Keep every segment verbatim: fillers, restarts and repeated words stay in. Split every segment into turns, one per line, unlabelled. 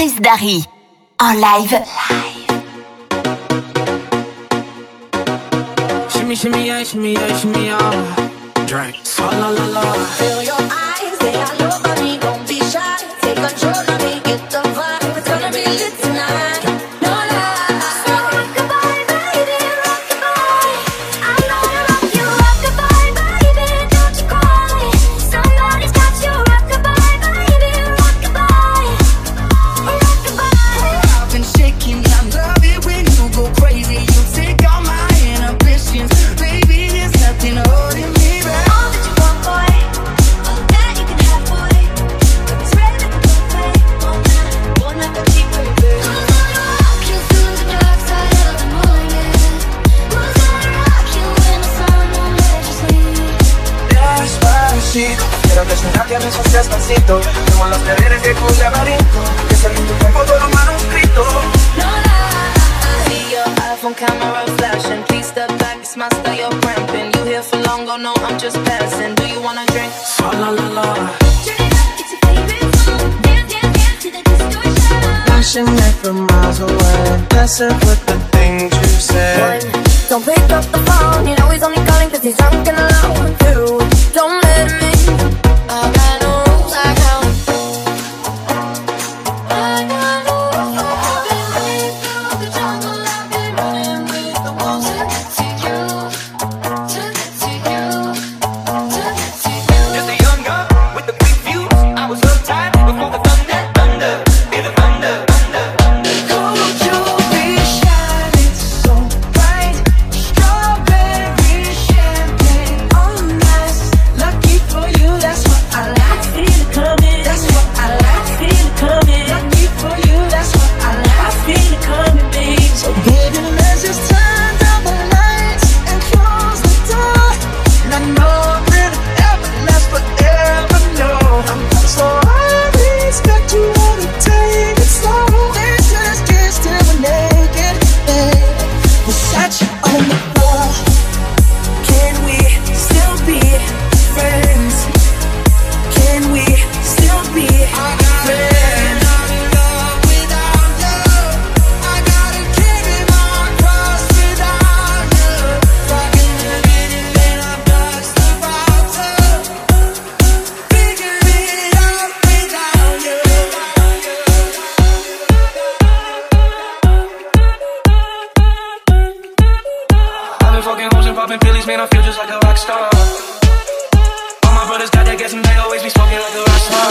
Chris Darry en live.
Shimmy, shimmy, yeah, shimmy, yeah, shimmy, yeah. Drink. So la la la.
Feel your eyes, they are love on me. Don't be shy, take control of me. Get the vibe, it's gonna be lit tonight. No lie. So rock-a-bye, baby, rock-a-bye. I'm gonna rock you, rock-a-bye, baby. Don't you cry. Somebody's got you, rock-a-bye, baby, rock-a-bye, rock-a-bye.
I've been shaking, I love it when you go crazy. You take all my inhibitions, baby. There's nothing holding me back.
All that you want, boy, all that you can have, boy. It's ready to go play all night. You're not the cheap baby. Who's gonna rock you through the dark side of the moon, yeah? Who's gonna rock you when the sun won't let you sleep?
Despacito, quiero que suena que me suene despacito. Como los perreres que con laberinto, que salen tu cuerpo todo manuscrito.
No lie. I see your iPhone camera flashing. Please step back, it's my style, you're cramping. You here for long, oh no, I'm just passing. Do you wanna drink?
So la la la.
Turn it up, it's your favorite song. Dance, dance, dance to the distortion.
Flashing it from miles away, messing with the things you say.
One, don't pick up the phone. You know he's only calling cause he's drunk and alone. Two, don't let him in. I got no rules, I got I got no rules. I've been running through the jungle. I've been running with the wolves. To get to you, to get to you, to get to you.
Just a young gun with the quick fuse. I was uptight before the thunder, thunder, be the thunder, thunder, thunder. Could you be shining so bright? Strawberry champagne on ice. Lucky for you, that's what I like. Feel it coming, that's what I like. Feel it coming. Lucky for you, that's what I like. I feel it coming, babe. So baby, let's just turn down the lights and close the door. And I know it really ever lasts forever, no. So I expect you wanna take it slow. Let's just kiss till we're naked, babe. Versace on the floor. Can we still be friends? Can we still be friends? I'm in love without love. I gotta carry my cross without you. Rockin' the minute and I bust the bottle. Figure it out without you.
I've been fucking hoes and popping pillies, man, I feel just like a rock star. All my brothers got that gas and they always be smoking like a rock star.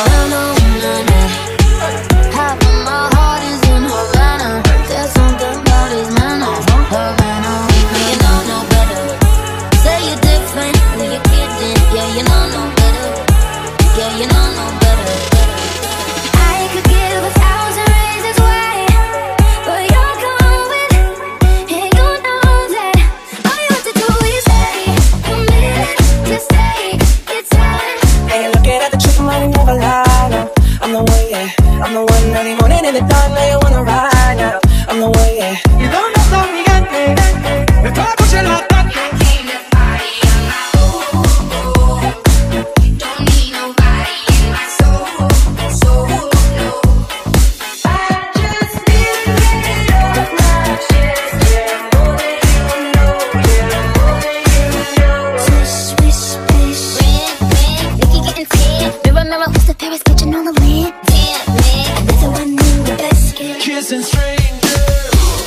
Half of my heart is in Havana. There's something about his manner. Havana, you know no better. Say you're different when you're kidding. Yeah, you know no better. Yeah, you know no better. I could give a thousand reasons why, but you're going, and you know that all you have to do is stay, commit to stay. It's time.
Hey, looking at the trick, I'm running never lie now. I'm the one, yeah. I'm the one early morning in the dark, now you wanna ride now. I'm the one, yeah. You don't know how we got me. Me pa escuchar la tarde.
I came to party on my own. Don't need nobody in my soul, soul, no. I just need to get it off my chest. Yeah, more than you know, yeah, more than you know. Swish, swish, swish. Red, red, Nicky getting tan. Mirror, mirror, who's the fairest bitch in all the land? Damn, man, another one in the basket.
Kissing strangers.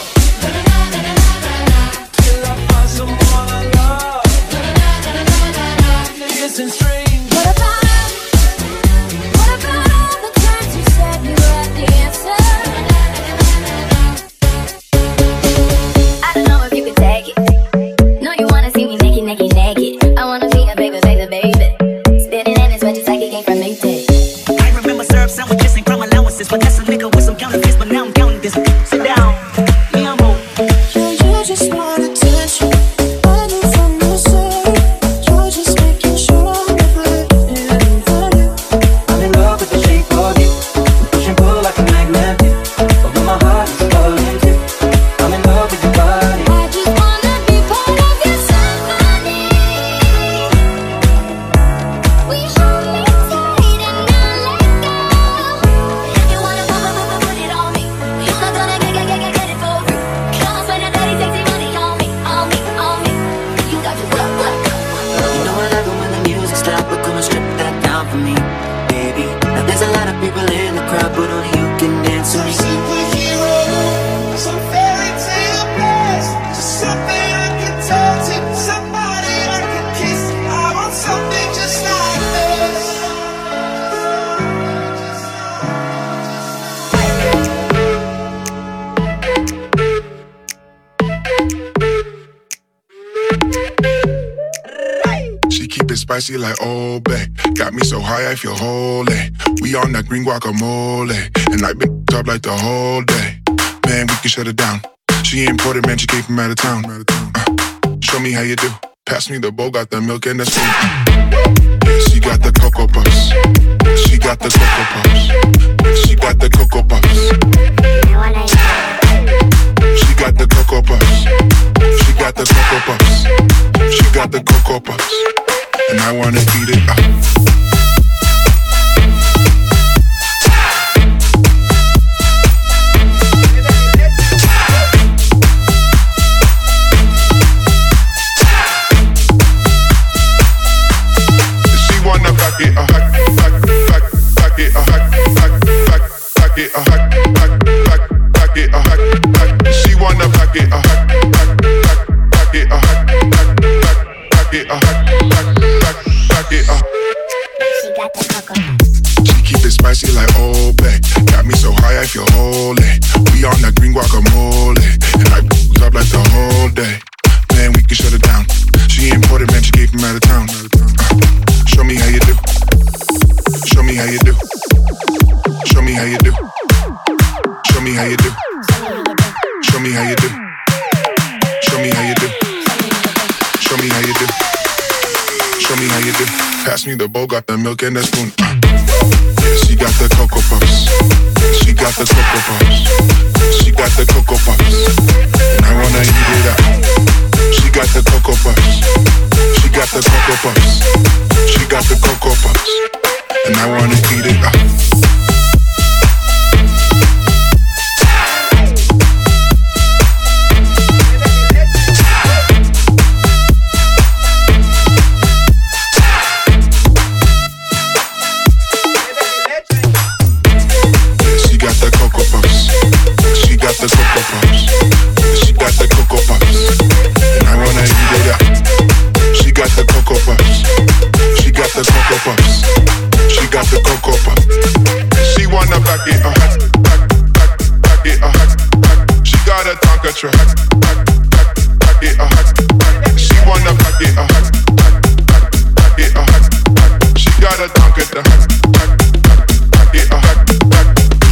Till I find someone I love. Kissing strangers.
What about, what about all the times you said you were the answer? I don't know if you can take it. No, you wanna see me naked, naked, naked. I wanna be a baby, baby, baby. Spinning in as much as I can gain from Maytag.
I remember syrup sandwiches and crumb allowances. But that's a nigga with some counterfeits. But now I'm counting this. Sit down, me I'm home.
Yeah, you just want attention. I know from the start. You're just making sure I'm right for you. I'm in love with the shape of you. Push and pull like a magnet. Although my heart is falling too. I'm in love with your body.
I just wanna be part of your symphony. We hold me tight and not let go. You wanna put, put, put, put it on
spicy like Old Bay. Got me so high I feel holy. We on that green guacamole, and I've been up like the whole day. Man, we can shut it down. She imported, man, she came from out of town. Uh, show me how you do. Pass me the bowl, got the milk and the spoon. Yeah, she got the Cocoa Puffs. She got the Cocoa Puffs. She got the Cocoa Puffs. She got the Cocoa Puffs. She got the Cocoa Puffs. She got the Cocoa Puffs. And I wanna eat it up. It a hack, hack, hack, hack it a hack, hack, hack, hack it a hack, hack, hack, hack it a hack, hack. She wanna pack it a hack, hack, hack, hack it a hack, hack, hack, hack it a hack, hack, hack, hack it a. She got the cocoa. She keep it spicy like Old Bay. Got me so high I feel holy. We on that green guacamole, and I up like the whole day. Man, we can shut it down. She imported, man, she came from out of town. Uh, Show me how you do. Show me how you do. Show me how you do. Show me how you do. Show me how you do. Show me how you do. Show me how you do. Show me how you do. Pass me the bowl, got the milk and the spoon. Uh. Yeah, she got the Cocoa Puffs. She got the Cocoa Puffs. She got the Cocoa Puffs. And I wanna eat it up. She got the Cocoa Puffs. She got the Cocoa Puffs. She got the Cocoa Puffs. And I wanna eat it up. She got the Cocoa Puffs. She got the Cocoa Puffs. She got the Cocoa Puffs. And I wanna eat it up. She got the Cocoa Puffs. She got the Cocoa Puffs. She got the Cocoa Puffs. She wanna back it a hack, back, back, back it a hack, back. She got a Tonka truck, hack, back, back, back it a hack, back. She wanna back it a hack, back, back, back it a hack, back. She got a Tonka the hack, back, back, back it a hack, back.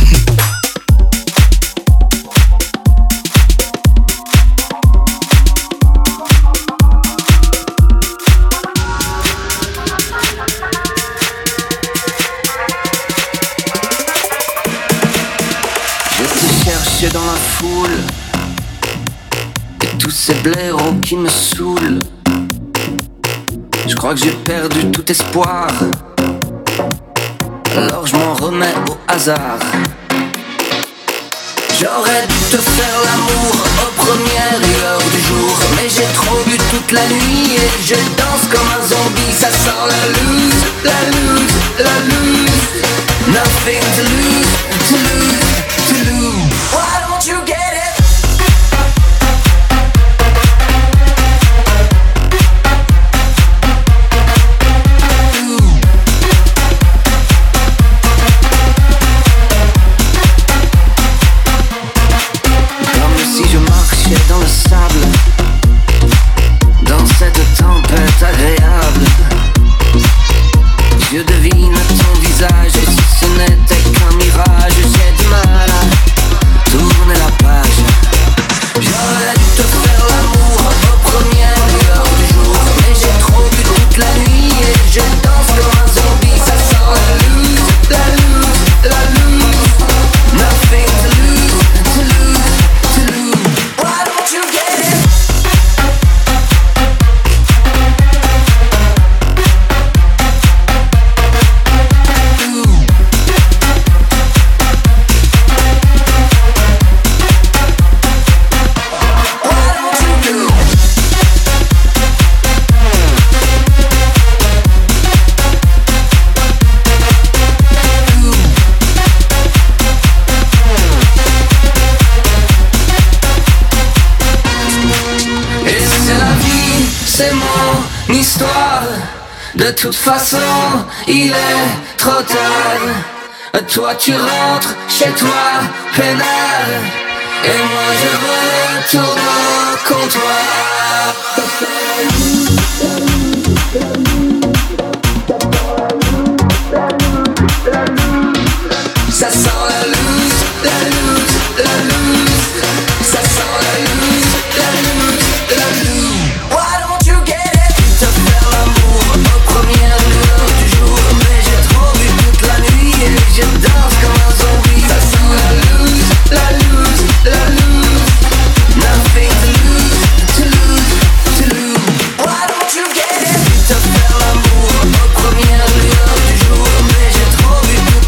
Dans la foule et tous ces blaireaux qui me saoulent. Je crois que j'ai perdu tout espoir, alors je m'en remets au hasard. J'aurais dû te faire l'amour aux premières lueurs du jour, mais j'ai trop bu toute la nuit et je danse comme un zombie. Ça sent la loose, la loose, la loose. Nothing to lose, to lose, to lose. Why don't you get it? Dans le sable, dans cette tempête agréable, je devine ton visage, et si ce n'était qu'un mirage, j'ai du mal à tourner la page. J'aurais dû te faire l'amour aux premières lueurs du jour, mais j'ai trop bu toute la nuit et je danse comme un zombie. Ça sent la loose, la loose, la loose. Nothing to lose, to lose, to lose. Why don't you get it? C'est mon histoire. De toute façon, il est trop tard. Toi tu rentres chez toi, peinard, et moi je retourne au comptoir. Ça sent la loose, la loose, la loose. Ça sent la loose, la loose, la loose. Why don't you get it? Te faire l'amour aux premières lueurs du jour. Mais j'ai trop bu toute la nuit et je danse comme un zombie. Ça sent la loose, la loose, la loose. Nothing to lose, to lose, to lose. Why don't you get it? Te faire l'amour aux premières lueurs du jour. Mais j'ai trop bu toute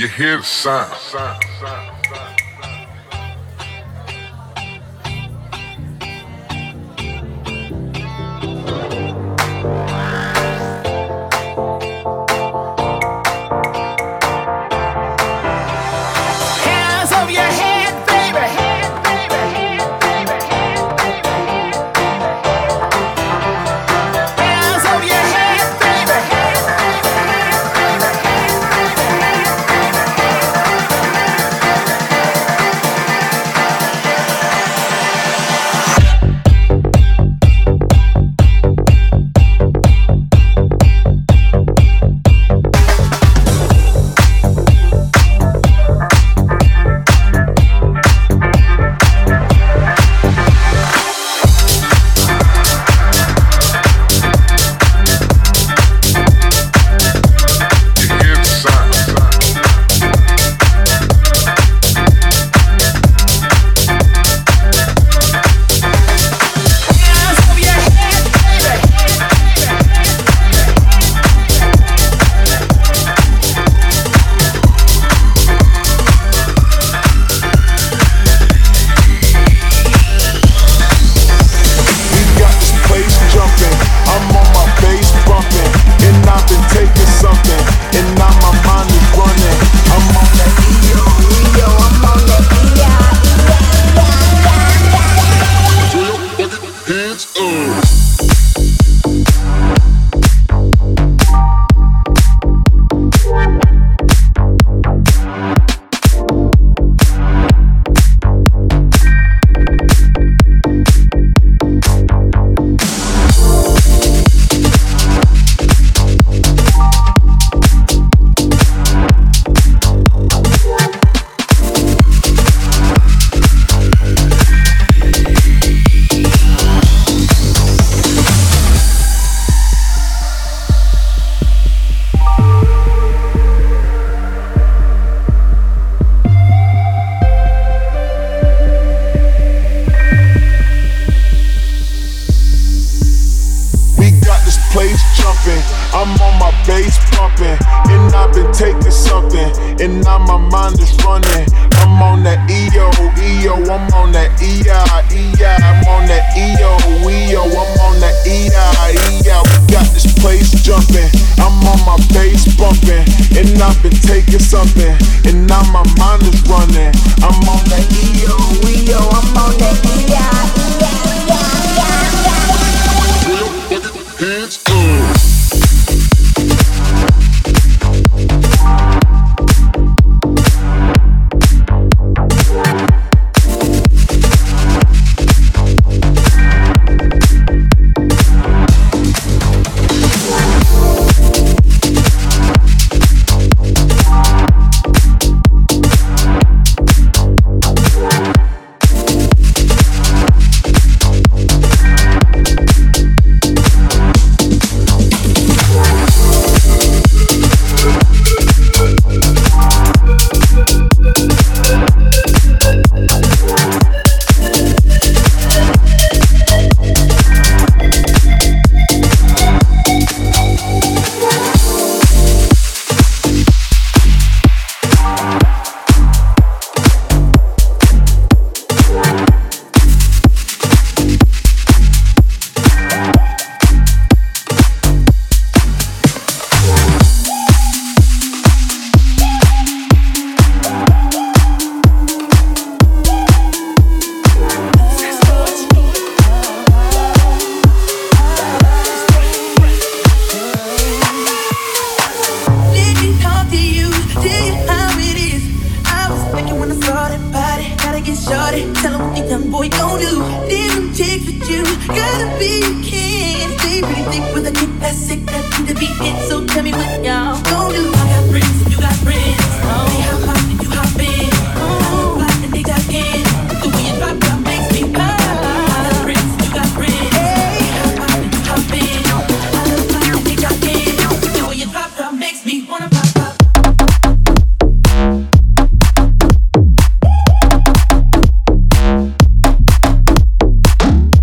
You hear the sound.
Hands over your head, baby. Hands over your head, baby.
You hear the sound.
Hands over your head, baby.
We got this place jumping. I'm on my bass bumping, and I've been taking something, and now my mind is running. I'm on that E O, E O, I'm on that E O.
Hands up. We got this place jumping. I'm on my bass bumping, and I've been taking something, and now my mind is running. I'm on that E O, E O, I'm on that E I, E I, I'm on that E O, E O, I'm on that E I, E I. We got this place jumping. I'm on my bass bumping, and I've been taking something, and now my mind is running. I'm on that E O, E O, I'm on that E I, E I, E I. Hands up.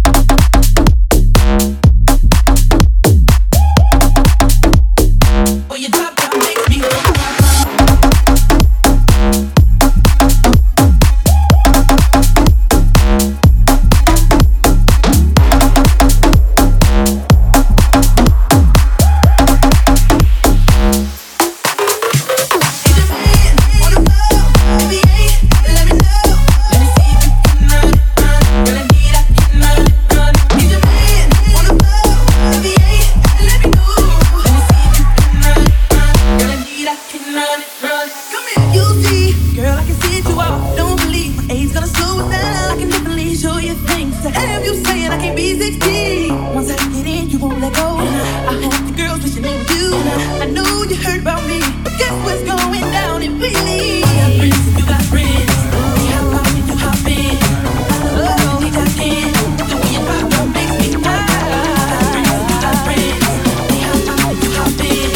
Boy,
won't let go. I have the girls wishing they were you. I know you heard about me, but guess what's going down if we leave? I got friends and you got friends. We hop out and you hop in. Oh, we got in. The way you pop up makes me high. I got friends and you got friends. We hop out and you hop in.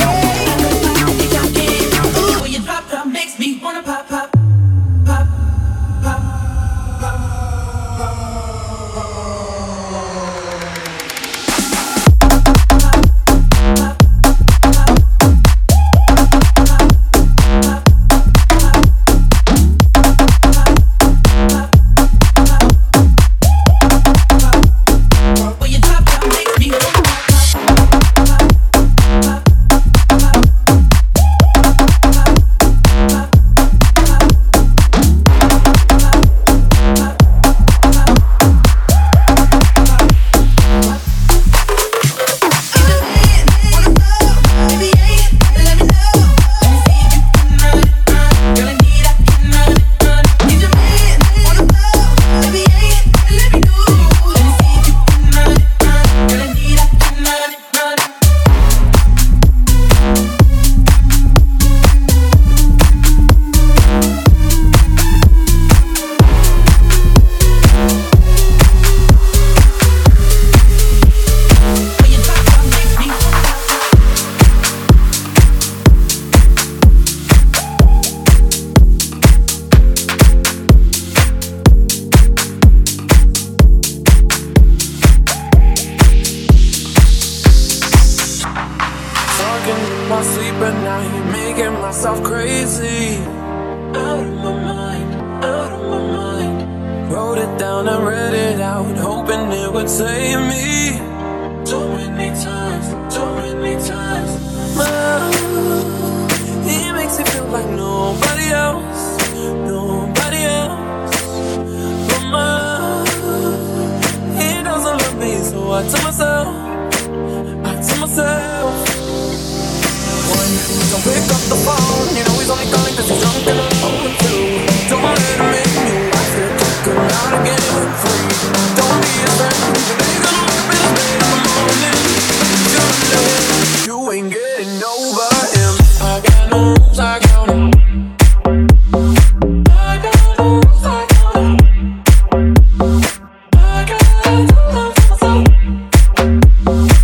Oh, we got in. The way you drop drop makes me wanna pop pop pop pop pop pop.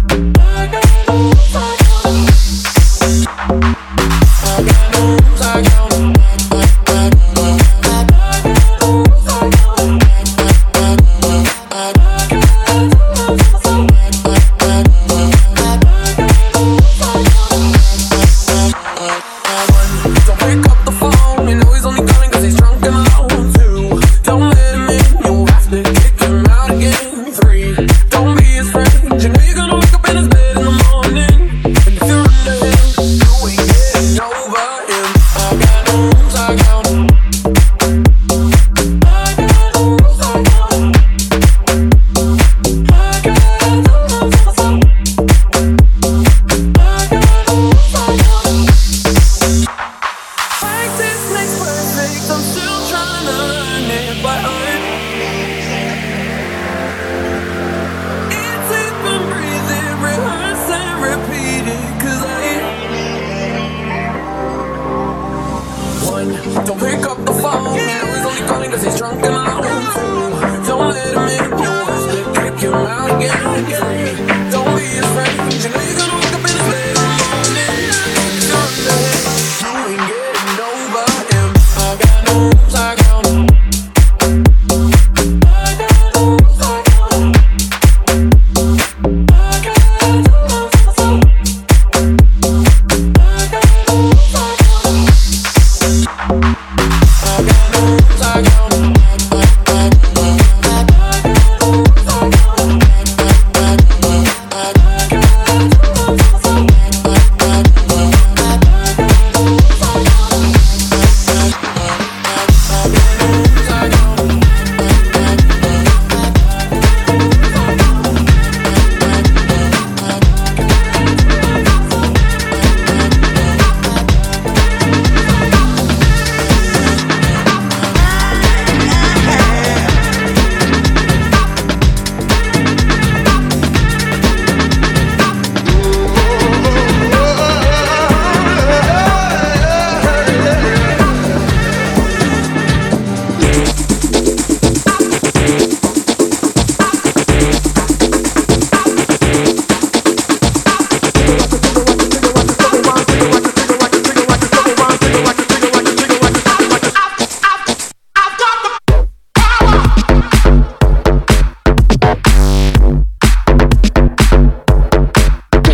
I got moves, I got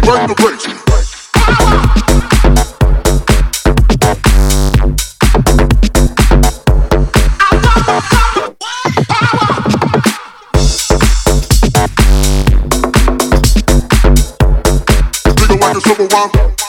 Run the brakes. Nigga like a silver one.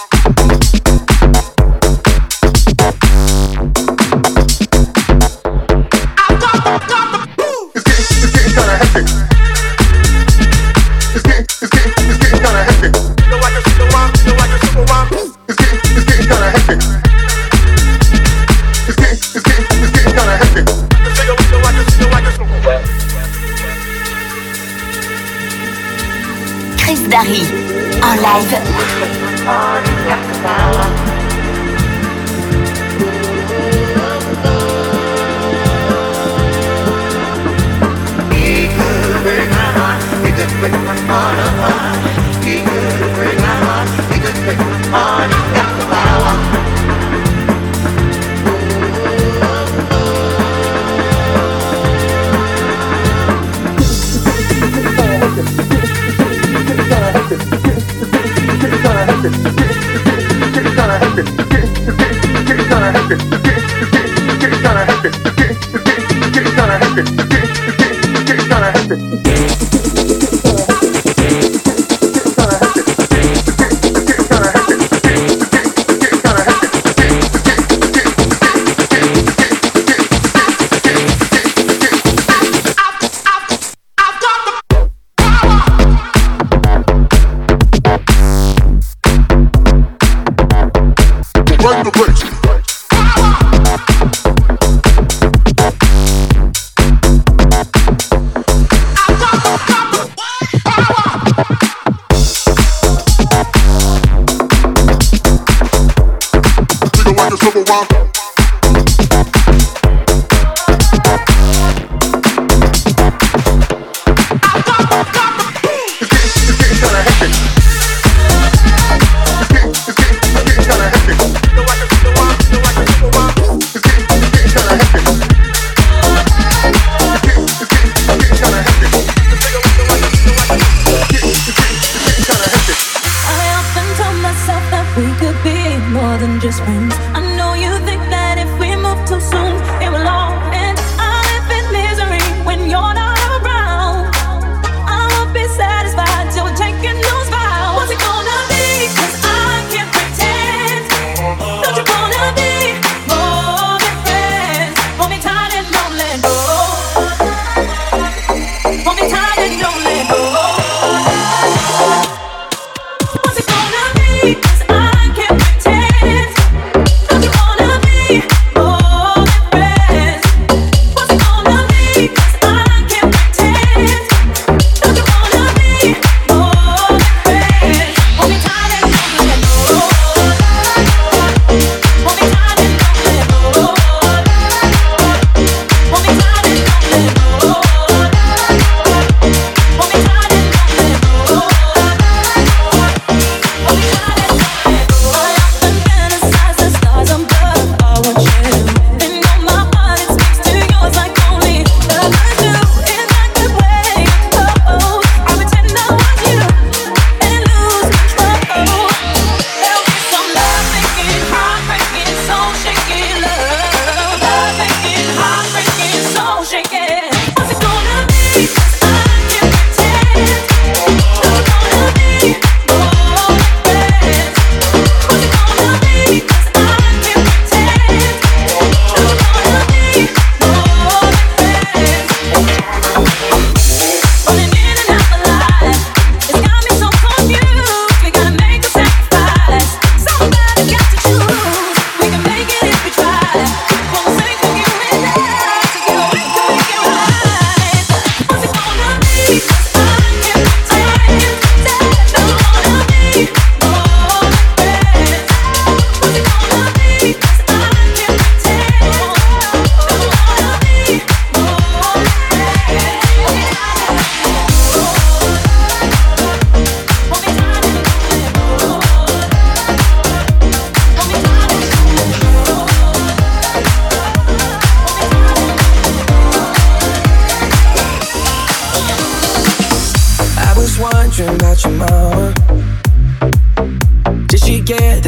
Chris Darry en live. Run the brakes. Nigga like a silver one.
Just friends. I know you think that if we move too soon, it will all end. I live in misery when you're not around. I won't be satisfied till we're taking those vows. What's it gonna be? 'Cause I can't pretend. Don't you wanna be more than friends? Hold me tight and don't let go. Hold me tight and don't let go. What's it gonna be? 'Cause I can't pretend.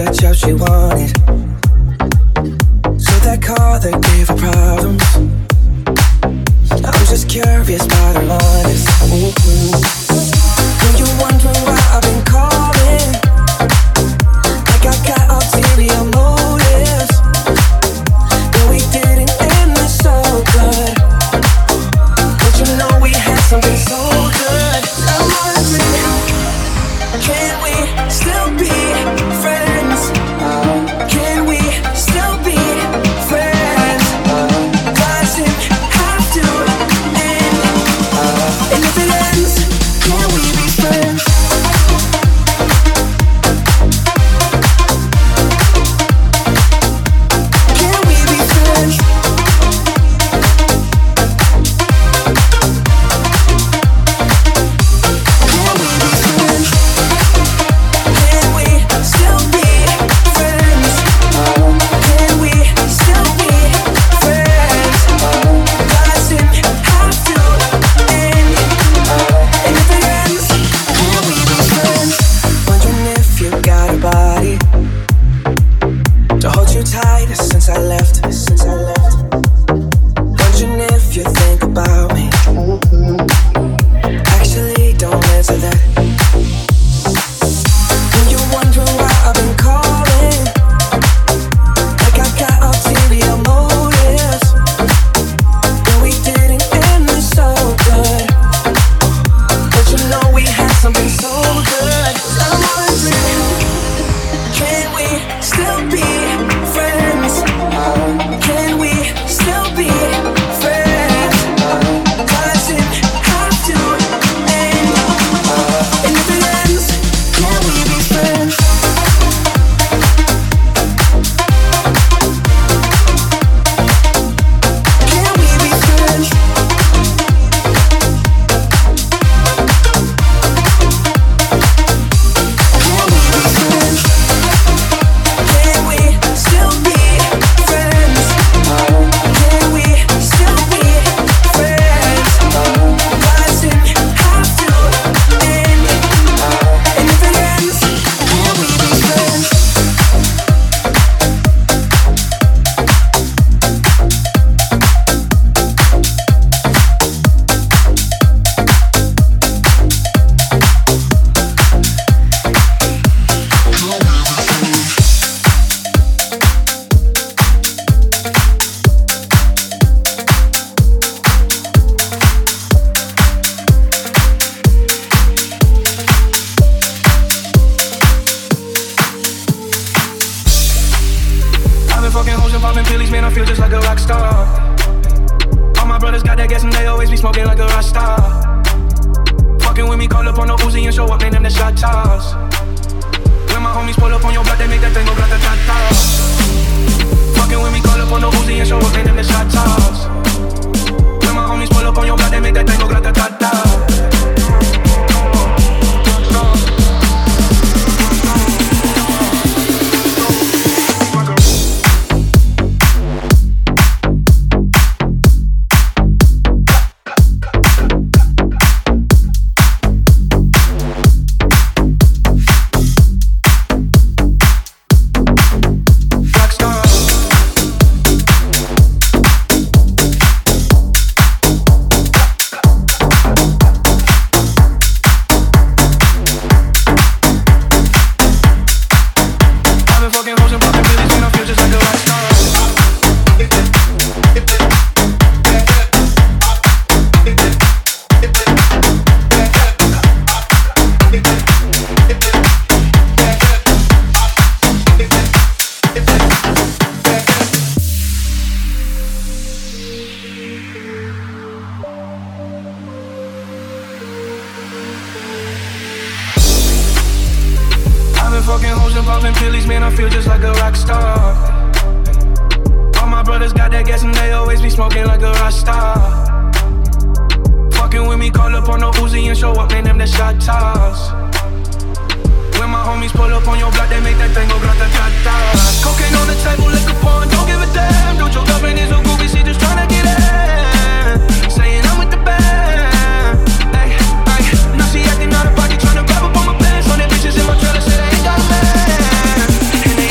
what job she wanted. So that car that gave her problems. I'm just curious about her honest. Mm-hmm. When you're wondering why I've been calling, like I got ulterior motives, but we didn't end this so good. But you know we had something so good. I'm wondering, can we still be friends? Can we still be friends? Does it have to end? And if it ends, can we be friends? Can we be friends? Can we be friends? Can we still be friends? Can we still be friends? Does it have to end? And if it ends, can we be friends? Wondering if you got a body to hold you tight since I left, since I left. Wondering if you think about me. Actually, don't answer that. When you're wondering why I've been calling, like I got ulterior motives, but we didn't end this so good. But you know we had something so good. I'm wondering, can we still be friends? Can we still be friends? Does it have to end? And if it ends, can we be friends? Can we be friends? Can we be friends? Can we still be friends? Can we still be friends? Does it have to end? And if it ends, can we be friends?
I've been fucking hoes and popping pillies, man, I feel just like a rock star. All my brothers got that gas and they always be smoking like a rock star. Fucking with me, call up on the Uzi and show up, man, them the shot toss. When my homies pull up on your block, they make that thing go grata-ta-ta. Fucking with me, call up on the Uzi and show up, man, them the shot toss. When my homies pull up on your block, they make that thing go grata-ta-ta. Fucking hoes and popping pillies, man, I feel just like a rock star. All my brothers got that gas and they always be smoking like a rock star. Fucking with me, call up on the Uzi and show up, man, them the shot toss. When my homies pull up on your block, they make that thing go grata-ta-ta. Cocaine on the table, liquor porn, don't give a damn. Don't your girlfriend is a groupie, she just tryna get in. Saying I'm with the band. Ay, ay, now she acting out of pocket, tryna grab up on my pants. On them bitches in my trailer, say they ain't got a man. And they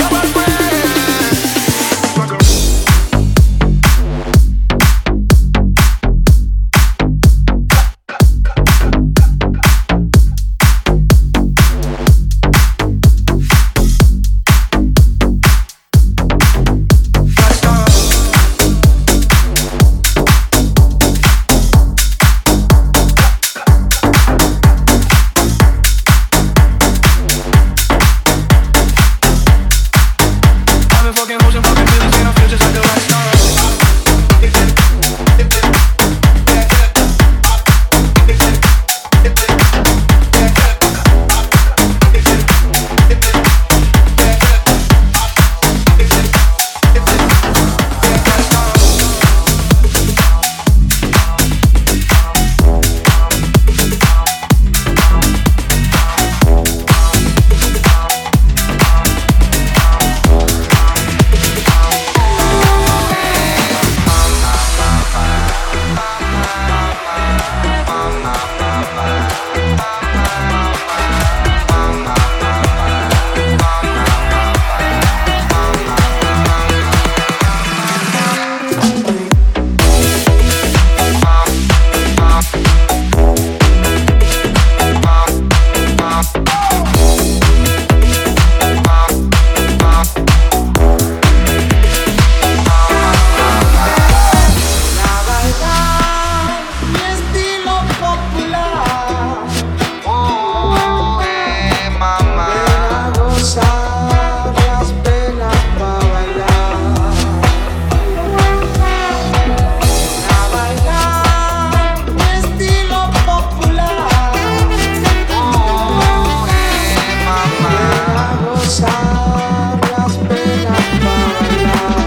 gozar las penas para bailar.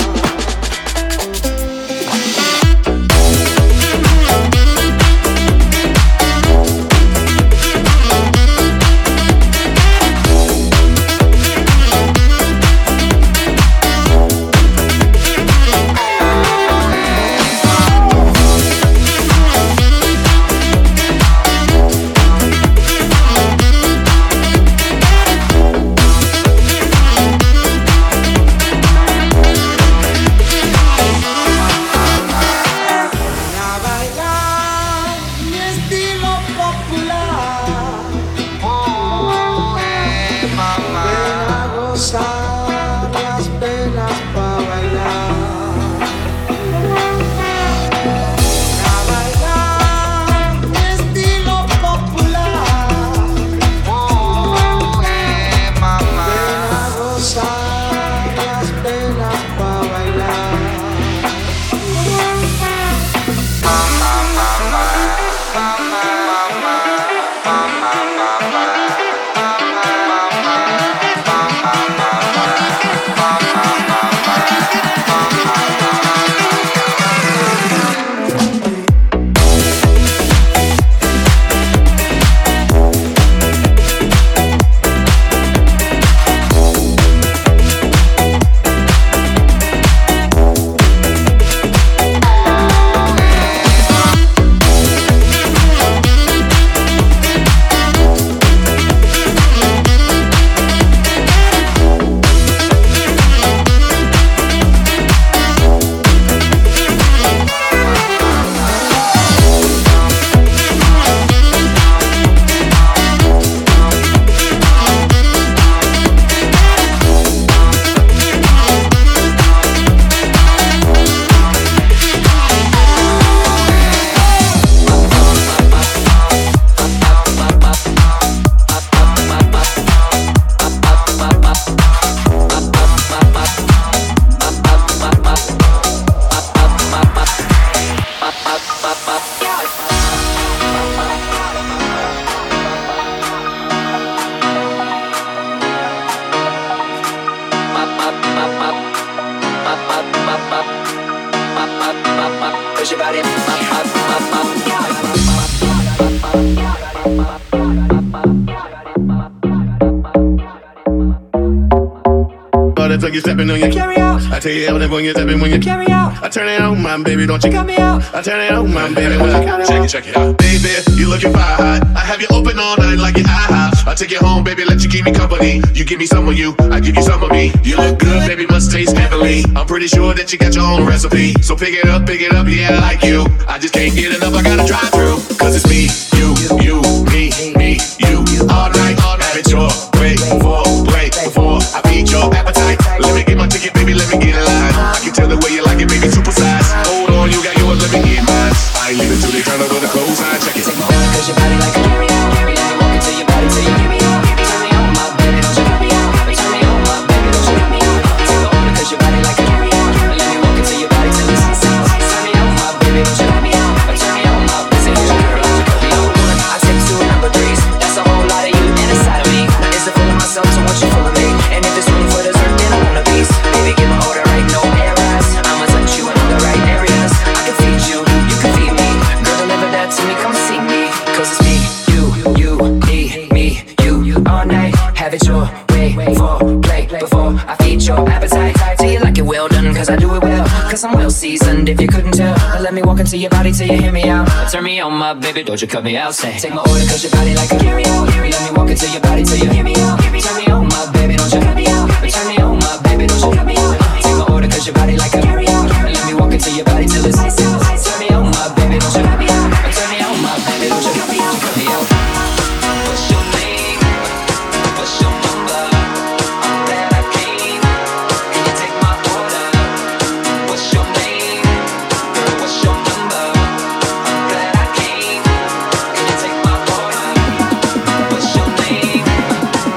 You stepping on your carry out. I tell you everything when you're stepping when you carry out. I turn it on, my baby, don't you cut me out. I turn it on, my baby, when you carry out. Check it, check it out. Baby, you looking fire hot. I have you open all night like your IHOP. I take you home, baby, let you keep me company. You give me some of you, I give you some of me. You look good, baby, must taste heavenly. I'm pretty sure that you got your own recipe. So pick it up, pick it up, yeah, I like you. I just can't get enough, I gotta drive through. Cause it's me, you, you, me, me, you. All night, all night, it's your way for play before I feed your appetite. Let me get my ticket, baby, let me get in line. I can tell the way you like it, baby, super size. Hold on, you got yours, let me get mine. I ain't leaving till they turn over the clothes, I check it.
Take my order, cause your body like a carry out. Carry out, walk into your body till you hear me out. Turn me on, my baby, don't you cut me out. Turn me on, my baby, don't you cut me out. Take my order, cause your body like a carry out. Let me walk into your body till it's insane. Turn me on, my baby, don't you cut me out. Turn me on, my baby, don't you cut me out. I take two number threes, that's a whole lot of you inside of me. Now is it full of myself, so once you full of me. And if it's room for dessert, then I want a piece. Baby, get my order right, no errors. I'ma touch you in all the right areas. I can feed you, you can feed me. Girl, deliver that to me, come see me. Cause it's me, you, you, me, me, you. All night, have it your way. For play before I feed your appetite. Do you like it well done? Cause I do it well. Cause I'm well seasoned, if you couldn't tell. Let me walk into your body till you hear me out. Turn me on, my baby, don't you cut me out. Say, take my order, cause your body like a carry out. Let me walk into your body till you hear me out. Turn me on, my baby, don't you cut me out. Turn me on, my baby, don't you cut me out. Take my order, cause your body like a carry out. Let me walk into your body till it's ice out. Turn me on, my baby, don't you cut me out. Turn me on, my baby, don't you cut me out. Cut me out. What's your name? What's your number? I'm glad I came. Can you take my order? What's your name? Girl, what's your number? I'm glad I came. Can you take my order? What's your name?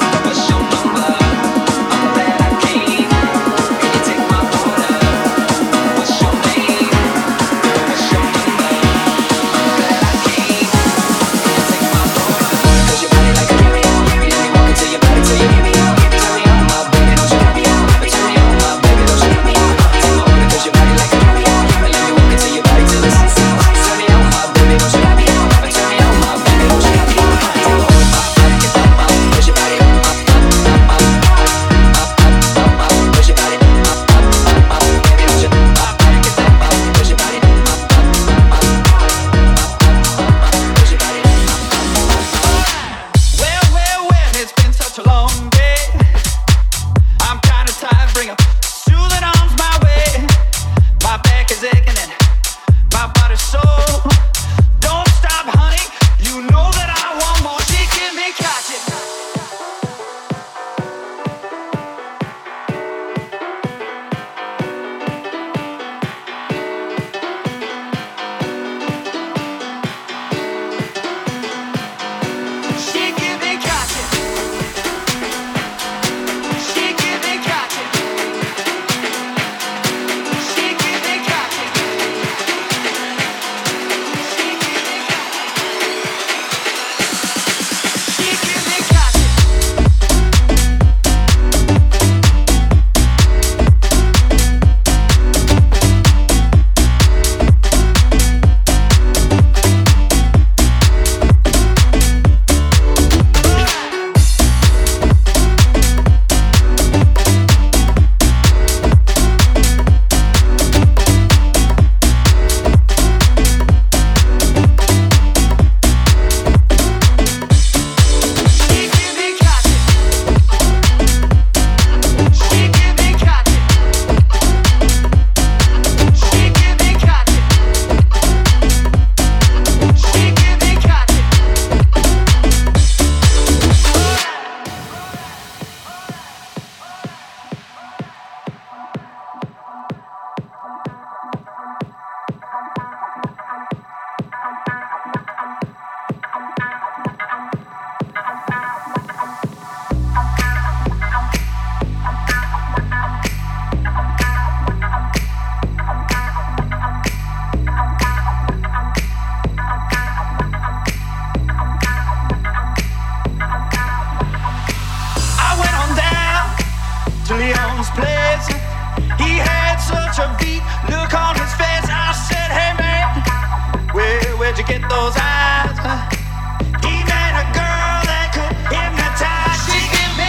to Leon's place. He had such a beat look on his face. I said, hey man, where, where'd you get those eyes? He met a girl that could hypnotize. She give me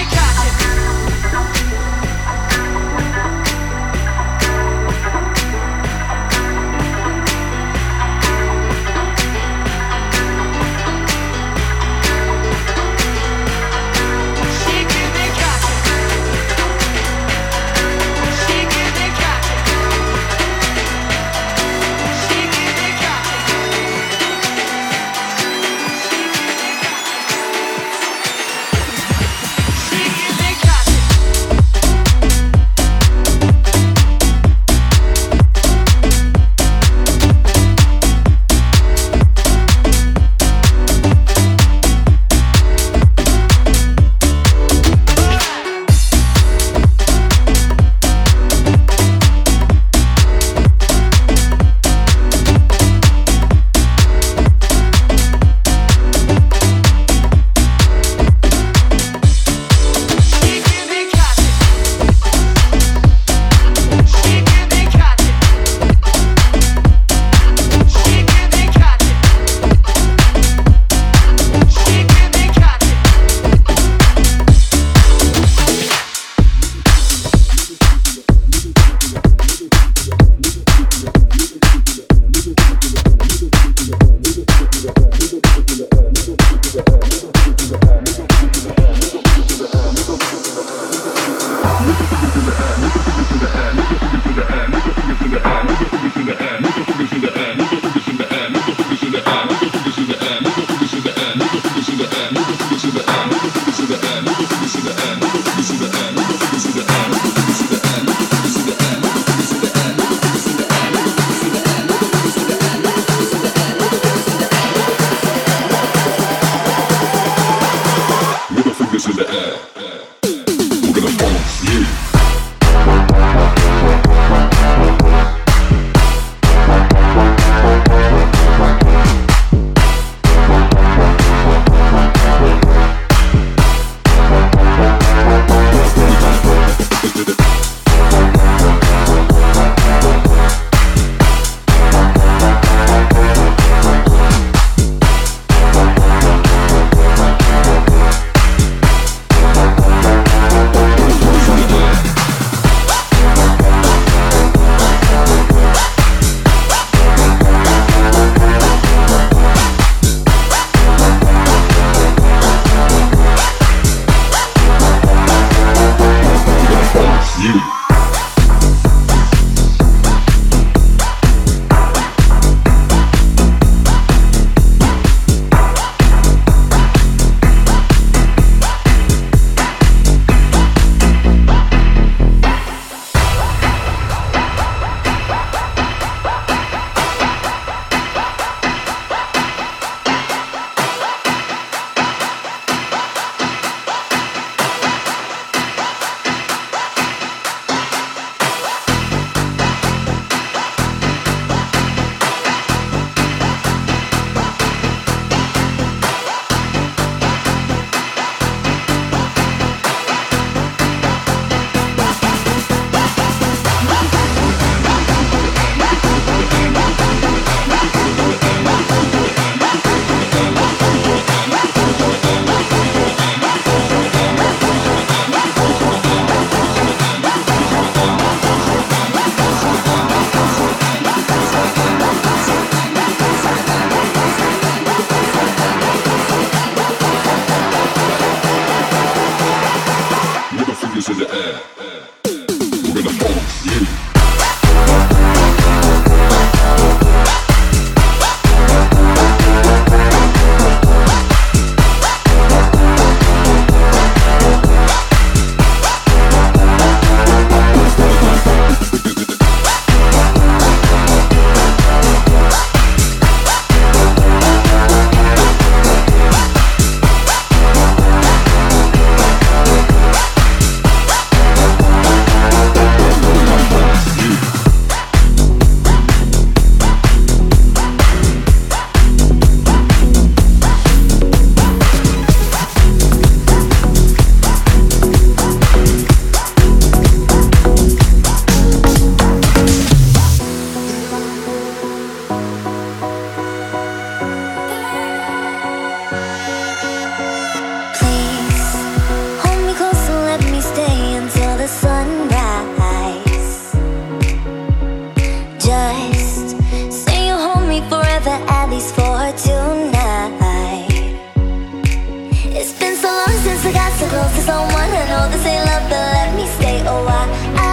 someone. I know this ain't love, but let me stay a while.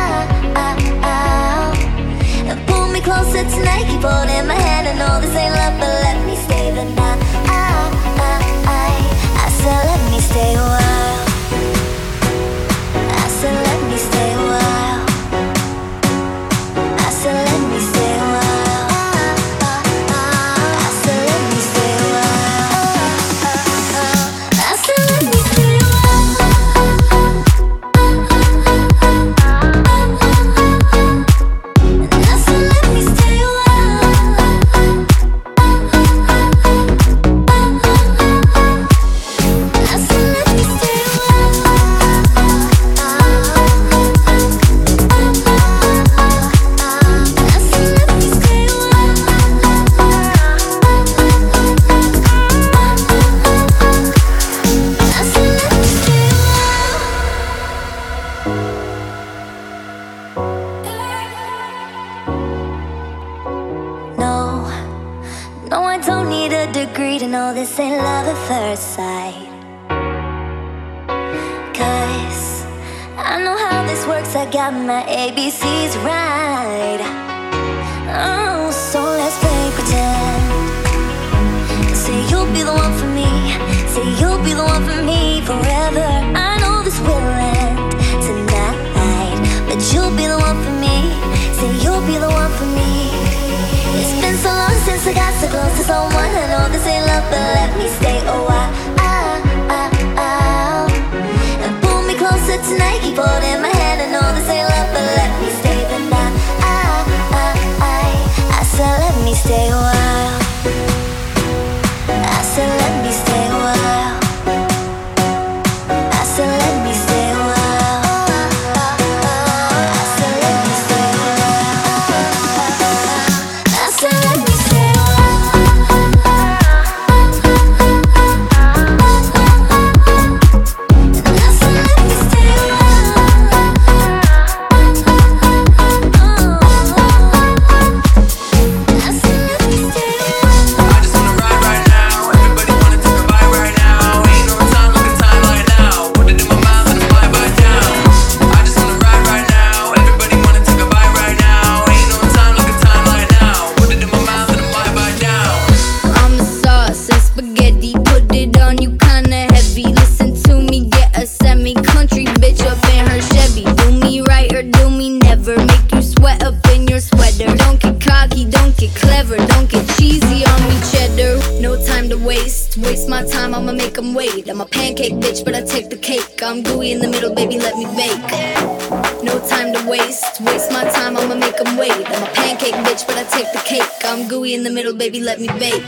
Pull me closer tonight, keep holding my hand. I know this ain't love, but let me stay the night. I said let me stay a while. I said let me stay a while. I said let me stay a while. I said let me stay a while. I said let me stay a while. I said let me stay a while. degree to know this ain't love at first sight. Cause I know how this works, I got my A B Cs right. Oh, so let's play pretend. Say you'll be the one for me, say you'll be the one for me forever. I know this will end tonight, but you'll be the one for me, say you'll be the one for me. It's been so long since I got so close to someone. I know this ain't love, but let me stay a while. Ah, ah, ah. And pull me closer tonight, keep holding my hand. I know this ain't love, but let me stay the night. Ah, ah, ah. I said let me stay a while. I said let me stay a while. I said let me stay a while. I said let me stay a while. I said let me stay a wait. I'm a pancake bitch, but I take the cake. I'm gooey in the middle, baby, let me bake. No time to waste, waste my time, I'ma make them wait. I'm a pancake bitch, but I take the cake. I'm gooey in the middle, baby, let me bake.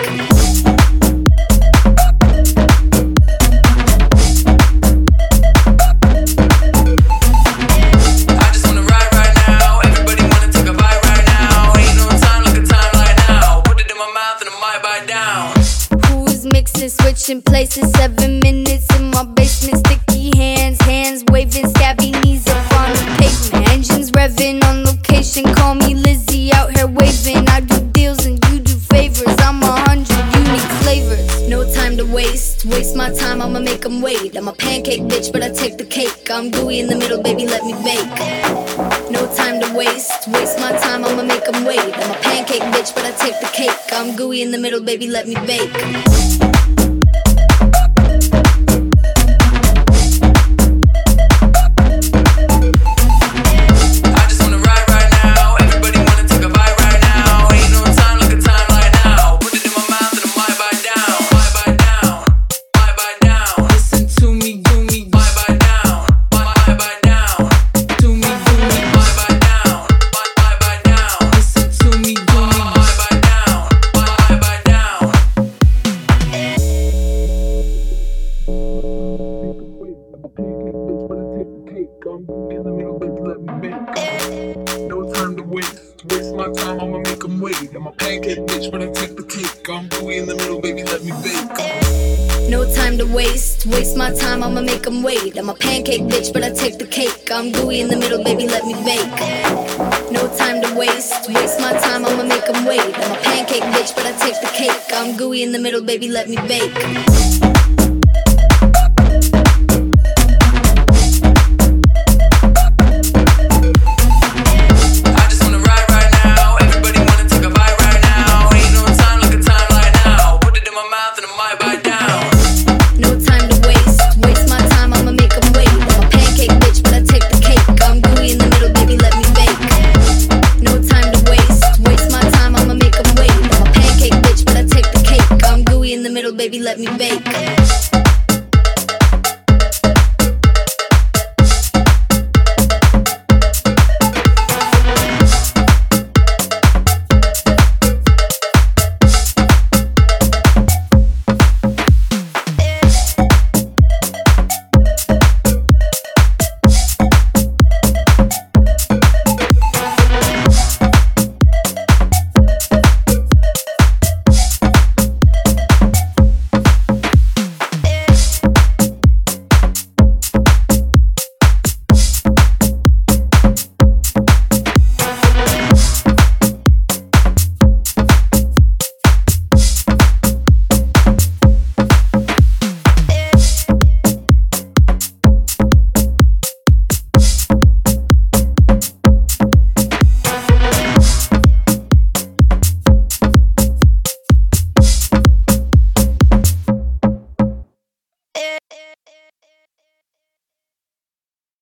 Switching places, seven minutes in my basement. Sticky hands, hands waving, scabby knees up on the pavement. Engines revving on location, call me Lizzie out here waving. I do deals and you do favors, I'm a hundred unique flavors. No time to waste, waste my time, I'ma make them wait. I'm a pancake bitch, but I take the cake. I'm gooey in the middle, baby, let me bake. No time to waste, waste my time, I'ma make them wait. I'm a pancake bitch, but I take the cake. I'm gooey in the middle, baby, let me bake. I'ma make them wait. I'm a pancake bitch, but I take the cake. I'm gooey in the middle, baby, let me bake. No time to waste, waste my time, I'ma make them wait. I'm a pancake bitch, but I take the cake. I'm gooey in the middle, baby, let me bake.